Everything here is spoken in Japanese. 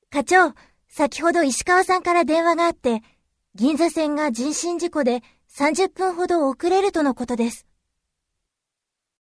課長、先ほど石川さんから電話があって、銀座線が人身事故で30分ほど遅れるとのことです。